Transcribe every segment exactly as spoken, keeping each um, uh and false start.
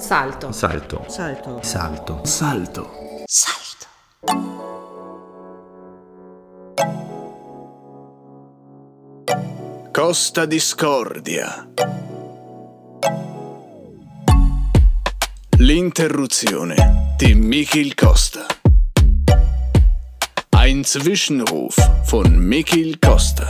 Salto. Salto. Salto. Salto. Salto. Salto. Costa Discordia. L'interruzione di Michiel Costa. Ein Zwischenruf von Michiel Costa.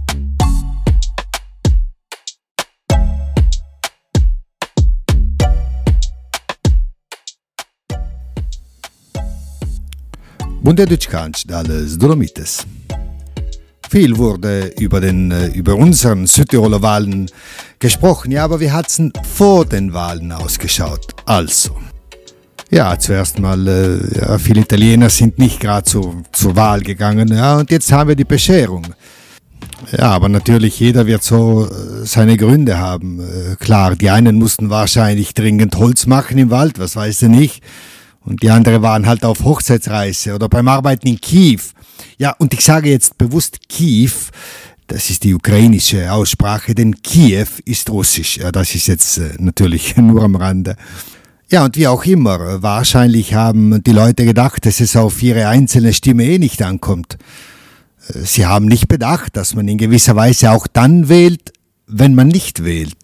Bundetitschkansch alles Dolomites. Viel wurde über, den, über unseren Südtiroler Wahlen gesprochen, ja, aber wie hat es vor den Wahlen ausgeschaut? Also, ja, zuerst mal, äh, ja, viele Italiener sind nicht gerade zu, zur Wahl gegangen, ja, und jetzt haben wir die Bescherung. Ja, aber natürlich, jeder wird so äh, seine Gründe haben. Äh, klar, die einen mussten wahrscheinlich dringend Holz machen im Wald, was weiß ich nicht. Und die anderen waren halt auf Hochzeitsreise oder beim Arbeiten in Kiew. Ja, und ich sage jetzt bewusst Kiew, das ist die ukrainische Aussprache, denn Kiew ist russisch. Ja, das ist jetzt äh, natürlich nur am Rande. Ja, und wie auch immer, wahrscheinlich haben die Leute gedacht, dass es auf ihre einzelne Stimme eh nicht ankommt. Sie haben nicht bedacht, dass man in gewisser Weise auch dann wählt, wenn man nicht wählt.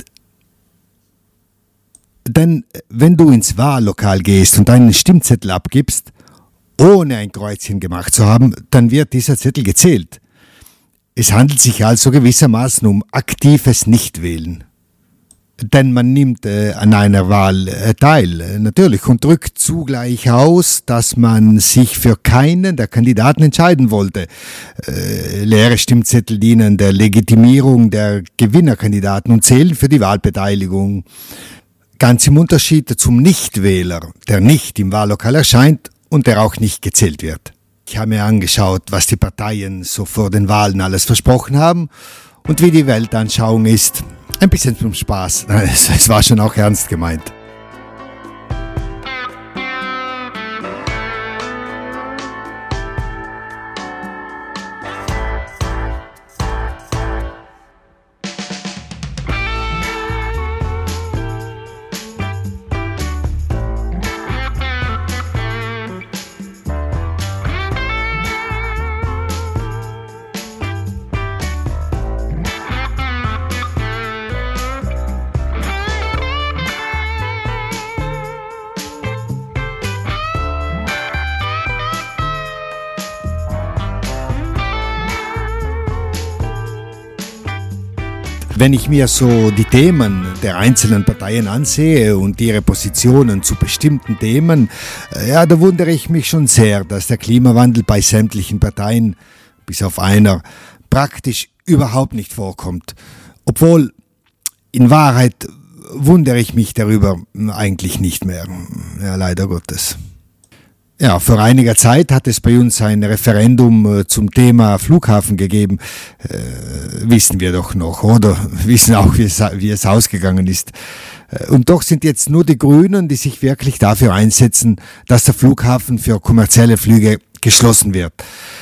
Denn wenn du ins Wahllokal gehst und einen Stimmzettel abgibst, ohne ein Kreuzchen gemacht zu haben, dann wird dieser Zettel gezählt. Es handelt sich also gewissermaßen um aktives Nichtwählen. Denn man nimmt äh, an einer Wahl äh, teil, äh, natürlich, und drückt zugleich aus, dass man sich für keinen der Kandidaten entscheiden wollte. Äh, leere Stimmzettel dienen der Legitimierung der Gewinnerkandidaten und zählen für die Wahlbeteiligung. Ganz im Unterschied zum Nichtwähler, der nicht im Wahllokal erscheint und der auch nicht gezählt wird. Ich habe mir angeschaut, was die Parteien so vor den Wahlen alles versprochen haben und wie die Weltanschauung ist. Ein bisschen zum Spaß, es war schon auch ernst gemeint. Wenn ich mir so die Themen der einzelnen Parteien ansehe und ihre Positionen zu bestimmten Themen, ja, da wundere ich mich schon sehr, dass der Klimawandel bei sämtlichen Parteien, bis auf einer, praktisch überhaupt nicht vorkommt. Obwohl, in Wahrheit wundere ich mich darüber eigentlich nicht mehr. Ja, leider Gottes. Ja, vor einiger Zeit hat es bei uns ein Referendum zum Thema Flughafen gegeben. Äh, wissen wir doch noch, oder? Wissen auch, wie es, wie es ausgegangen ist. Und doch sind jetzt nur die Grünen, die sich wirklich dafür einsetzen, dass der Flughafen für kommerzielle Flüge geschlossen wird.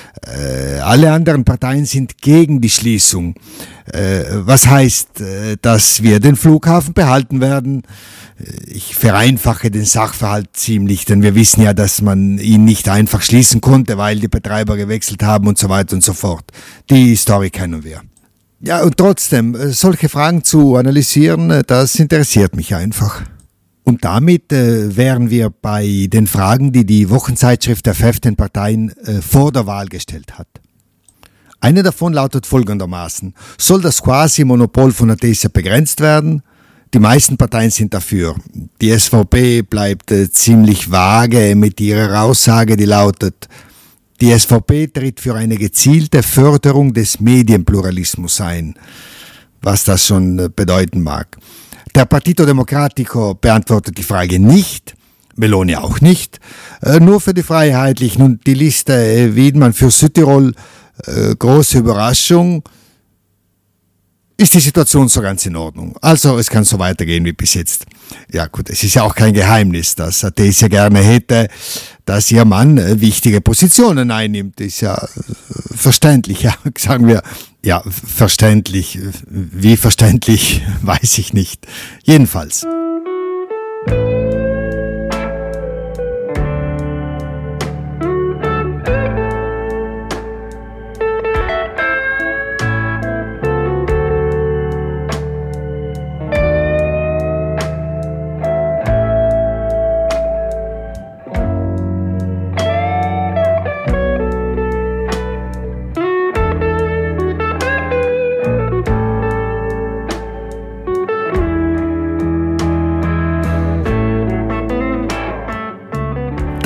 Äh, alle anderen Parteien sind gegen die Schließung. Äh, was heißt, äh, dass wir den Flughafen behalten werden? Ich vereinfache den Sachverhalt ziemlich, denn wir wissen ja, dass man ihn nicht einfach schließen konnte, weil die Betreiber gewechselt haben und so weiter und so fort. Die Story kennen wir. Ja, und trotzdem, solche Fragen zu analysieren, das interessiert mich einfach. Und damit äh, wären wir bei den Fragen, die die Wochenzeitschrift der fünfzehn Parteien äh, vor der Wahl gestellt hat. Eine davon lautet folgendermaßen: Soll das Quasi-Monopol von Atesia begrenzt werden? Die meisten Parteien sind dafür. Die S V P bleibt äh, ziemlich vage mit ihrer Aussage, die lautet: Die S V P tritt für eine gezielte Förderung des Medienpluralismus ein, was das schon äh, bedeuten mag. Der Partito Democratico beantwortet die Frage nicht, Meloni auch nicht, äh, nur für die Freiheitlichen und die Liste äh, Wiedmann für Südtirol, äh, große Überraschung, ist die Situation so ganz in Ordnung. Also es kann so weitergehen wie bis jetzt. Ja gut, es ist ja auch kein Geheimnis, dass Atesia gerne hätte, dass ihr Mann äh, wichtige Positionen einnimmt. Ist ja äh, verständlich, ja, sagen wir. Ja, verständlich. Wie verständlich, weiß ich nicht. Jedenfalls.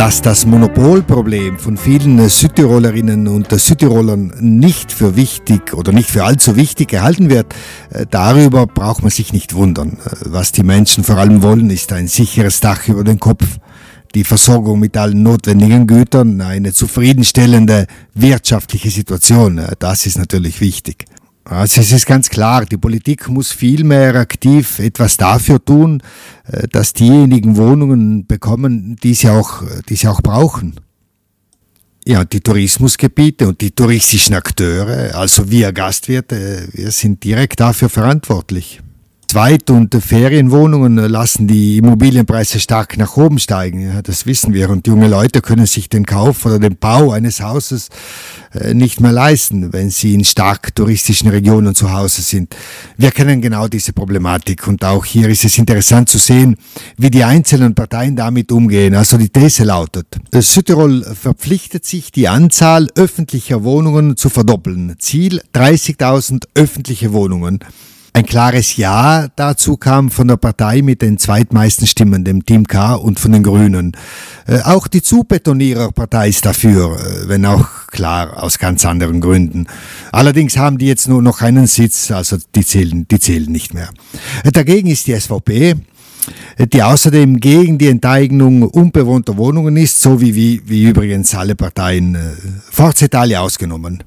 Dass das Monopolproblem von vielen Südtirolerinnen und Südtirolern nicht für wichtig oder nicht für allzu wichtig gehalten wird, darüber braucht man sich nicht wundern. Was die Menschen vor allem wollen, ist ein sicheres Dach über den Kopf, die Versorgung mit allen notwendigen Gütern, eine zufriedenstellende wirtschaftliche Situation. Das ist natürlich wichtig. Also es ist ganz klar, die Politik muss viel mehr aktiv etwas dafür tun, dass diejenigen Wohnungen bekommen, die sie auch, die sie auch brauchen. Ja, die Tourismusgebiete und die touristischen Akteure, also wir Gastwirte, wir sind direkt dafür verantwortlich. Zweit- und Ferienwohnungen lassen die Immobilienpreise stark nach oben steigen, ja, das wissen wir. Und junge Leute können sich den Kauf oder den Bau eines Hauses äh, nicht mehr leisten, wenn sie in stark touristischen Regionen zu Hause sind. Wir kennen genau diese Problematik und auch hier ist es interessant zu sehen, wie die einzelnen Parteien damit umgehen. Also die These lautet, Südtirol verpflichtet sich, die Anzahl öffentlicher Wohnungen zu verdoppeln. Ziel dreißigtausend öffentliche Wohnungen. Ein klares Ja dazu kam von der Partei mit den zweitmeisten Stimmen, dem Team K und von den Grünen. Äh, auch die Zubetonierer-Partei ist dafür, äh, wenn auch klar aus ganz anderen Gründen. Allerdings haben die jetzt nur noch einen Sitz, also die zählen, die zählen nicht mehr. Äh, dagegen ist die S V P, die außerdem gegen die Enteignung unbewohnter Wohnungen ist, so wie, wie, wie übrigens alle Parteien, äh, Forza Italia ausgenommen.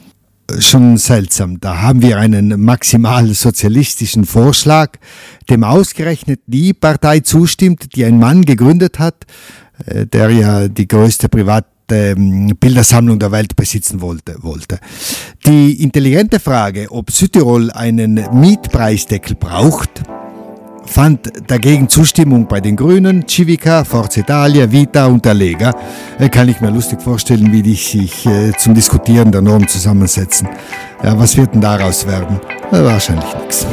Schon seltsam, da haben wir einen maximal sozialistischen Vorschlag, dem ausgerechnet die Partei zustimmt, die ein Mann gegründet hat, der ja die größte private Bildersammlung der Welt besitzen wollte. wollte. Die intelligente Frage, ob Südtirol einen Mietpreisdeckel braucht, fand dagegen Zustimmung bei den Grünen, Civica, Forza Italia, Vita und der Lega. Kann ich mir lustig vorstellen, wie die sich äh, zum Diskutieren der Norm zusammensetzen. Ja, was wird denn daraus werden? Ja, wahrscheinlich nichts.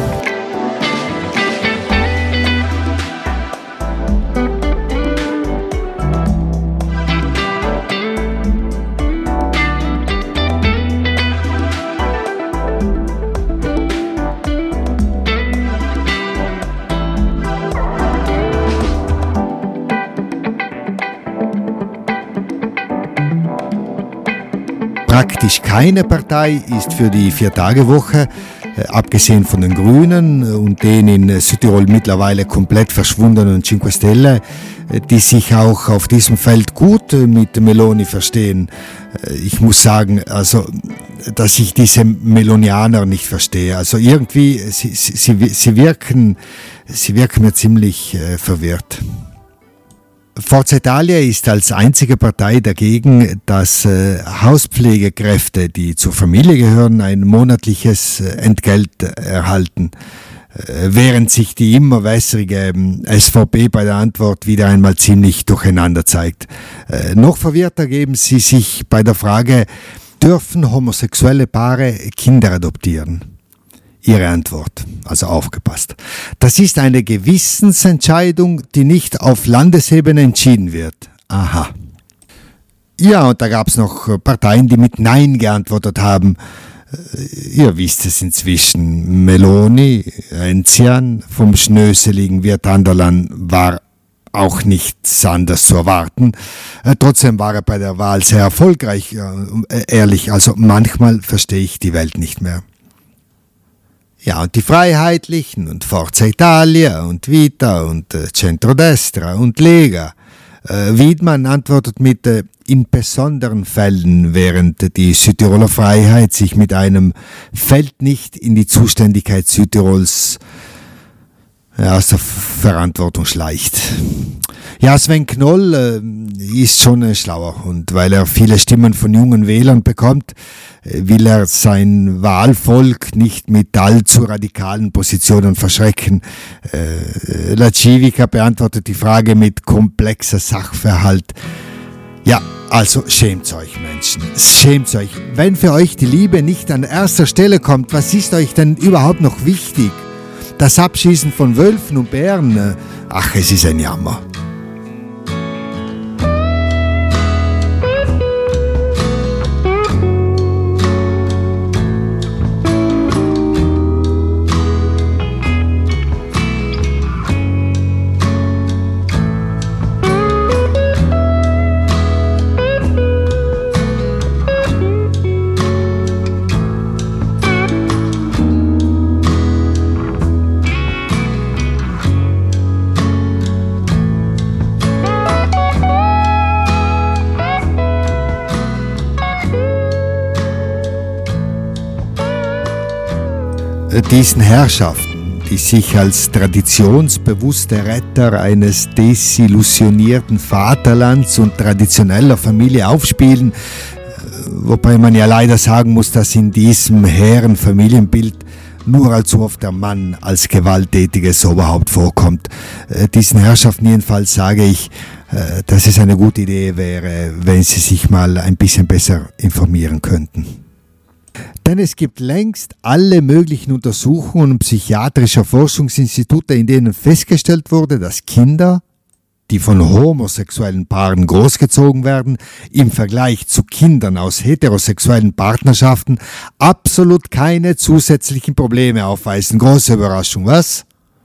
Praktisch keine Partei ist für die Vier-Tage-Woche, äh, abgesehen von den Grünen und den in Südtirol mittlerweile komplett verschwundenen Cinque Stelle, äh, die sich auch auf diesem Feld gut äh, mit Meloni verstehen. Äh, ich muss sagen, also, dass ich diese Melonianer nicht verstehe. Also irgendwie, sie, sie, sie, wirken, sie wirken mir ziemlich äh, verwirrt. Forza Italia ist als einzige Partei dagegen, dass äh, Hauspflegekräfte, die zur Familie gehören, ein monatliches äh, Entgelt erhalten, äh, während sich die immer wässrige äh, S V P bei der Antwort wieder einmal ziemlich durcheinander zeigt. Äh, noch verwirrter geben sie sich bei der Frage, dürfen homosexuelle Paare Kinder adoptieren? Ihre Antwort, also aufgepasst. Das ist eine Gewissensentscheidung, die nicht auf Landesebene entschieden wird. Aha. Ja, und da gab es noch Parteien, die mit Nein geantwortet haben. Ihr wisst es inzwischen. Meloni, Enzian, vom schnöseligen Wirtanderlan war auch nichts anderes zu erwarten. Trotzdem war er bei der Wahl sehr erfolgreich. Ehrlich, also manchmal verstehe ich die Welt nicht mehr. Ja, und die Freiheitlichen und Forza Italia und Vita und äh, Centrodestra und Lega. Äh, Wiedmann antwortet mit äh, in besonderen Fällen, während die Südtiroler Freiheit sich mit einem Fällt nicht in die Zuständigkeit Südtirols ja, aus der Verantwortung schleicht. Ja, Sven Knoll äh, ist schon äh, schlauer und weil er viele Stimmen von jungen Wählern bekommt, äh, will er sein Wahlvolk nicht mit allzu radikalen Positionen verschrecken. Äh, La Civica beantwortet die Frage mit komplexer Sachverhalt. Ja, also schämt euch, Menschen, schämt euch. Wenn für euch die Liebe nicht an erster Stelle kommt, was ist euch denn überhaupt noch wichtig? Das Abschießen von Wölfen und Bären, ach, es ist ein Jammer. Diesen Herrschaften, die sich als traditionsbewusste Retter eines desillusionierten Vaterlands und traditioneller Familie aufspielen, wobei man ja leider sagen muss, dass in diesem hehren Familienbild nur allzu oft der Mann als gewalttätiges Oberhaupt vorkommt. Diesen Herrschaften jedenfalls sage ich, dass es eine gute Idee wäre, wenn sie sich mal ein bisschen besser informieren könnten. Denn es gibt längst alle möglichen Untersuchungen psychiatrischer Forschungsinstitute, in denen festgestellt wurde, dass Kinder, die von homosexuellen Paaren großgezogen werden, im Vergleich zu Kindern aus heterosexuellen Partnerschaften absolut keine zusätzlichen Probleme aufweisen. Große Überraschung, was?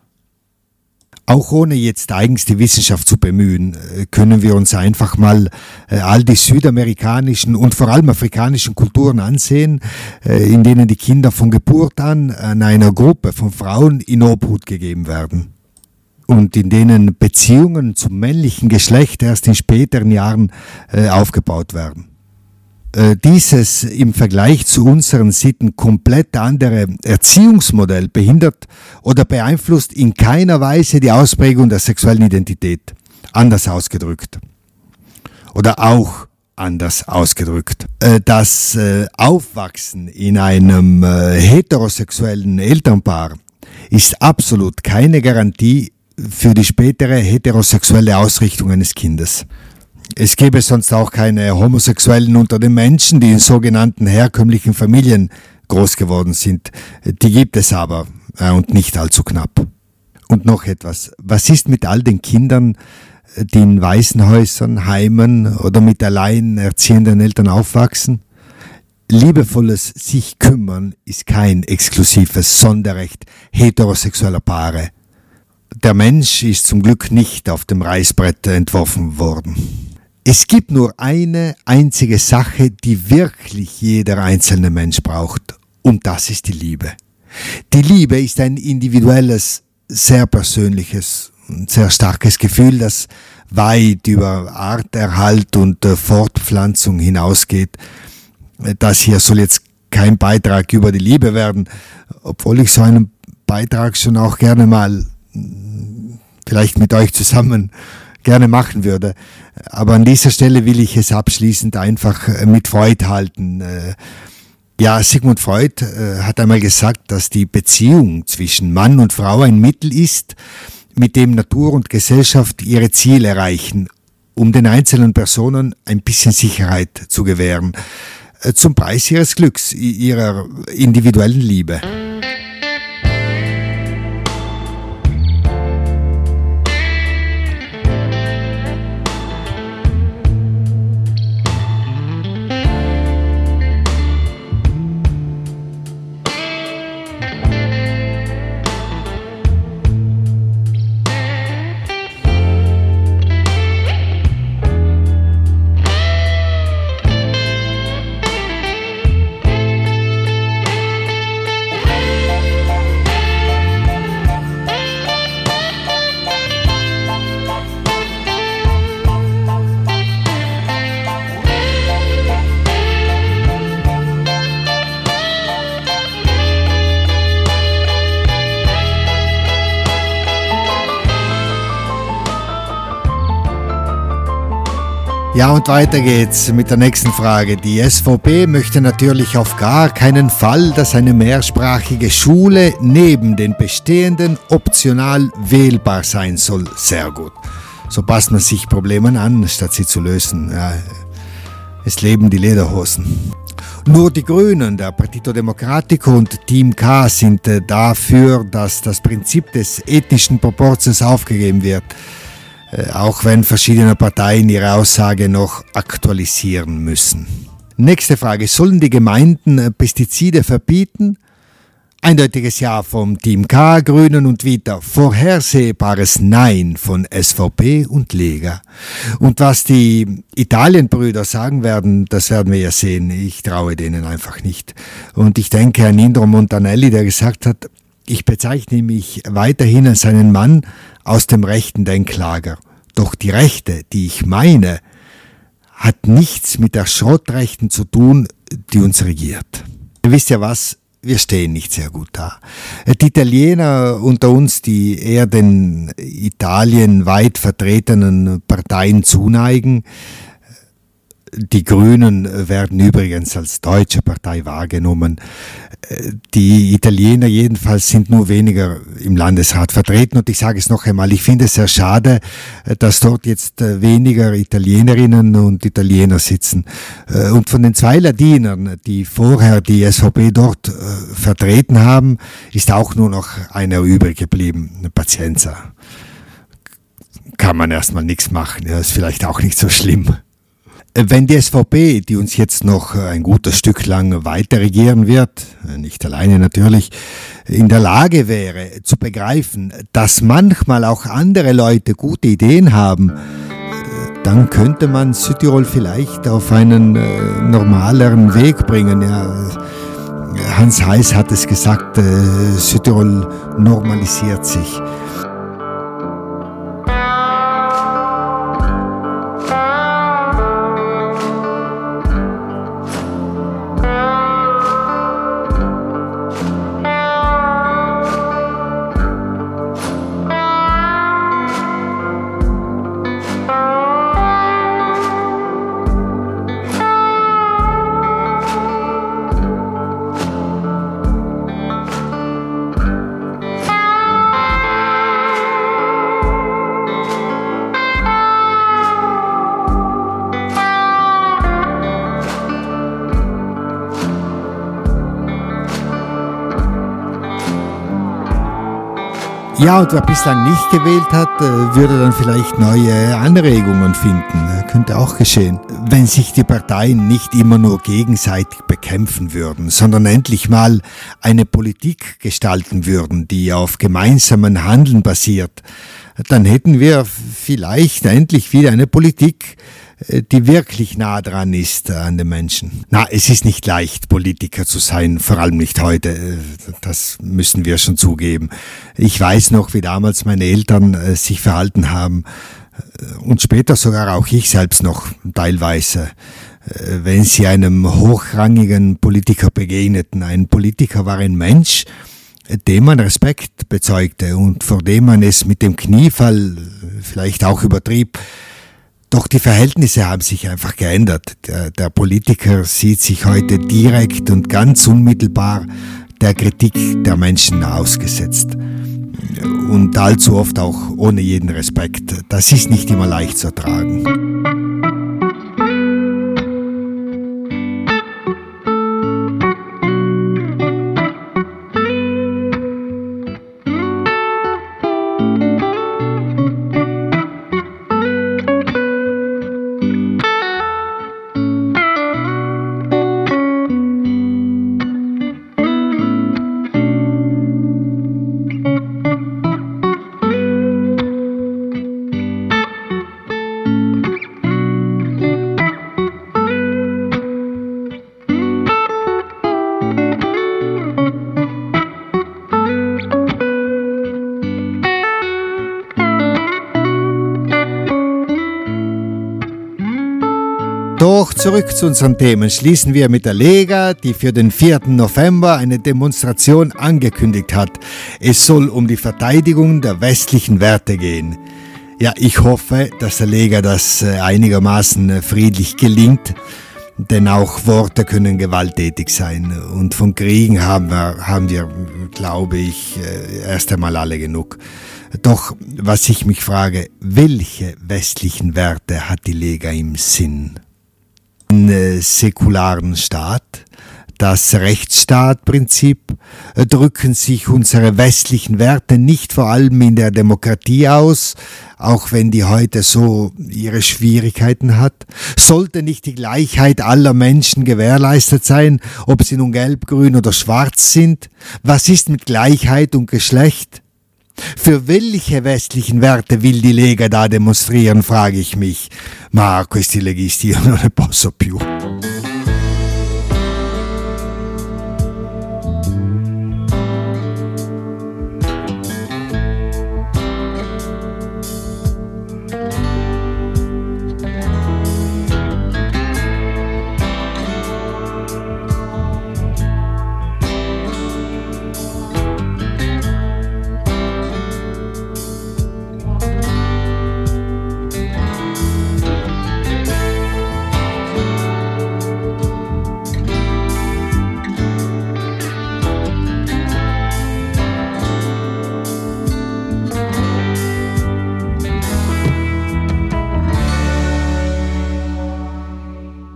Auch ohne jetzt eigens die Wissenschaft zu bemühen, können wir uns einfach mal all die südamerikanischen und vor allem afrikanischen Kulturen ansehen, in denen die Kinder von Geburt an an einer Gruppe von Frauen in Obhut gegeben werden. Und in denen Beziehungen zum männlichen Geschlecht erst in späteren Jahren äh, aufgebaut werden. Äh, dieses im Vergleich zu unseren Sitten komplett andere Erziehungsmodell behindert oder beeinflusst in keiner Weise die Ausprägung der sexuellen Identität. Anders ausgedrückt. Oder auch anders ausgedrückt. Äh, das äh, Aufwachsen in einem äh, heterosexuellen Elternpaar ist absolut keine Garantie für die spätere heterosexuelle Ausrichtung eines Kindes. Es gäbe sonst auch keine Homosexuellen unter den Menschen, die in sogenannten herkömmlichen Familien groß geworden sind. Die gibt es aber, äh, und nicht allzu knapp. Und noch etwas. Was ist mit all den Kindern, die in Waisenhäusern, Heimen oder mit allein erziehenden Eltern aufwachsen? Liebevolles sich kümmern ist kein exklusives Sonderrecht heterosexueller Paare. Der Mensch ist zum Glück nicht auf dem Reißbrett entworfen worden. Es gibt nur eine einzige Sache, die wirklich jeder einzelne Mensch braucht, und das ist die Liebe. Die Liebe ist ein individuelles, sehr persönliches und sehr starkes Gefühl, das weit über Arterhalt und Fortpflanzung hinausgeht. Das hier soll jetzt kein Beitrag über die Liebe werden, obwohl ich so einen Beitrag schon auch gerne mal vielleicht mit euch zusammen gerne machen würde. Aber an dieser Stelle will ich es abschließend einfach mit Freud halten. Ja, Sigmund Freud hat einmal gesagt, dass die Beziehung zwischen Mann und Frau ein Mittel ist, mit dem Natur und Gesellschaft ihre Ziele erreichen, um den einzelnen Personen ein bisschen Sicherheit zu gewähren, zum Preis ihres Glücks, ihrer individuellen Liebe. Ja, und weiter geht's mit der nächsten Frage. Die S V P möchte natürlich auf gar keinen Fall, dass eine mehrsprachige Schule neben den bestehenden optional wählbar sein soll. Sehr gut. So passt man sich Problemen an, statt sie zu lösen. Ja, es leben die Lederhosen. Nur die Grünen, der Partito Democratico und Team K sind dafür, dass das Prinzip des ethnischen Proportions aufgegeben wird. Auch wenn verschiedene Parteien ihre Aussage noch aktualisieren müssen. Nächste Frage. Sollen die Gemeinden Pestizide verbieten? Eindeutiges Ja vom Team K, Grünen und Vita. Vorhersehbares Nein von S V P und Lega. Und was die Italienbrüder sagen werden, das werden wir ja sehen. Ich traue denen einfach nicht. Und ich denke an Indro Montanelli, der gesagt hat, ich bezeichne mich weiterhin als einen Mann aus dem rechten Denklager. Doch die Rechte, die ich meine, hat nichts mit der Schrottrechten zu tun, die uns regiert. Ihr wisst ja was, wir stehen nicht sehr gut da. Die Italiener unter uns, die eher den Italien weit vertretenen Parteien zuneigen, die Grünen werden übrigens als deutsche Partei wahrgenommen. Die Italiener jedenfalls sind nur weniger im Landesrat vertreten. Und ich sage es noch einmal, ich finde es sehr schade, dass dort jetzt weniger Italienerinnen und Italiener sitzen. Und von den zwei Ladinern, die vorher die S V P dort vertreten haben, ist auch nur noch einer übrig geblieben, Pazienza. Kann man erstmal nichts machen, ja, ist vielleicht auch nicht so schlimm. Wenn die S V P, die uns jetzt noch ein gutes Stück lang weiter regieren wird, nicht alleine natürlich, in der Lage wäre zu begreifen, dass manchmal auch andere Leute gute Ideen haben, dann könnte man Südtirol vielleicht auf einen äh, normaleren Weg bringen. Ja, Hans Heiß hat es gesagt, äh, Südtirol normalisiert sich. Ja, und wer bislang nicht gewählt hat, würde dann vielleicht neue Anregungen finden. Könnte auch geschehen. Wenn sich die Parteien nicht immer nur gegenseitig bekämpfen würden, sondern endlich mal eine Politik gestalten würden, die auf gemeinsamen Handeln basiert, dann hätten wir vielleicht endlich wieder eine Politik, die wirklich nah dran ist an den Menschen. Na, es ist nicht leicht, Politiker zu sein, vor allem nicht heute. Das müssen wir schon zugeben. Ich weiß noch, wie damals meine Eltern äh, sich verhalten haben und später sogar auch ich selbst noch teilweise, äh, wenn sie einem hochrangigen Politiker begegneten. Ein Politiker war ein Mensch, dem man Respekt bezeugte und vor dem man es mit dem Kniefall vielleicht auch übertrieb. Doch die Verhältnisse haben sich einfach geändert. Der, der Politiker sieht sich heute direkt und ganz unmittelbar der Kritik der Menschen ausgesetzt. Und allzu oft auch ohne jeden Respekt. Das ist nicht immer leicht zu ertragen. Doch zurück zu unseren Themen. Schließen wir mit der Lega, die für den vierten November eine Demonstration angekündigt hat. Es soll um die Verteidigung der westlichen Werte gehen. Ja, ich hoffe, dass der Lega das einigermaßen friedlich gelingt, denn auch Worte können gewalttätig sein. Und von Kriegen haben wir, haben wir, glaube ich, erst einmal alle genug. Doch was ich mich frage, welche westlichen Werte hat die Lega im Sinn? Einen säkularen Staat, das Rechtsstaatprinzip, drücken sich unsere westlichen Werte nicht vor allem in der Demokratie aus, auch wenn die heute so ihre Schwierigkeiten hat? Sollte nicht die Gleichheit aller Menschen gewährleistet sein, ob sie nun gelb, grün oder schwarz sind? Was ist mit Gleichheit und Geschlecht? Für welche westlichen Werte will die Lega da demonstrieren, frage ich mich. Ma questi leghisti io non ne posso più.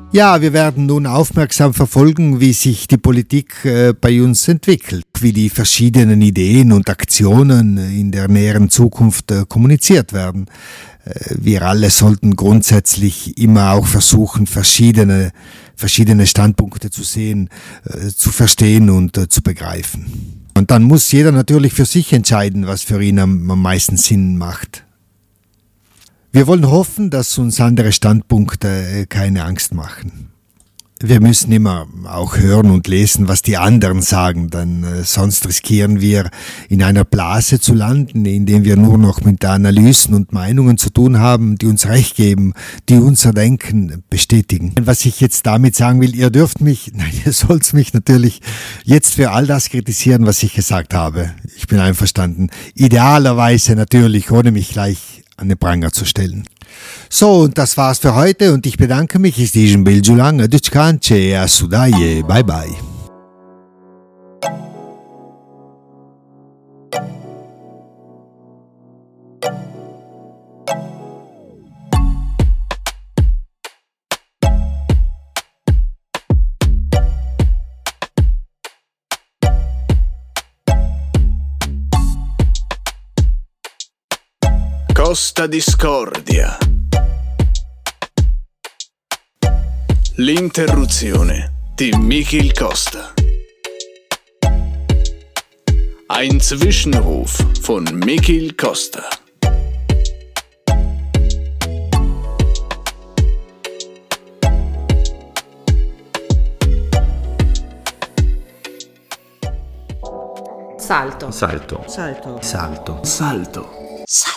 Ja, wir werden nun aufmerksam verfolgen, wie sich die Politik äh, bei uns entwickelt, wie die verschiedenen Ideen und Aktionen in der näheren Zukunft äh, kommuniziert werden. Äh, wir alle sollten grundsätzlich immer auch versuchen, verschiedene, verschiedene Standpunkte zu sehen, äh, zu verstehen und äh, zu begreifen. Und dann muss jeder natürlich für sich entscheiden, was für ihn am, am meisten Sinn macht. Wir wollen hoffen, dass uns andere Standpunkte keine Angst machen. Wir müssen immer auch hören und lesen, was die anderen sagen, denn äh, sonst riskieren wir, in einer Blase zu landen, in der wir nur noch mit Analysen und Meinungen zu tun haben, die uns Recht geben, die unser Denken bestätigen. Was ich jetzt damit sagen will, ihr dürft mich, nein, ihr sollt mich natürlich jetzt für all das kritisieren, was ich gesagt habe. Ich bin einverstanden. Idealerweise natürlich, ohne mich gleich an den Pranger zu stellen. So, und das war's für heute und ich bedanke mich, ich stižem Biljulang, a Dučkanče, a Sudaje, bye bye. Costa Discordia. L'interruzione di Michiel Costa. Ein Zwischenruf von Michiel Costa. Salto. Salto. Salto. Salto. Salto. Salto.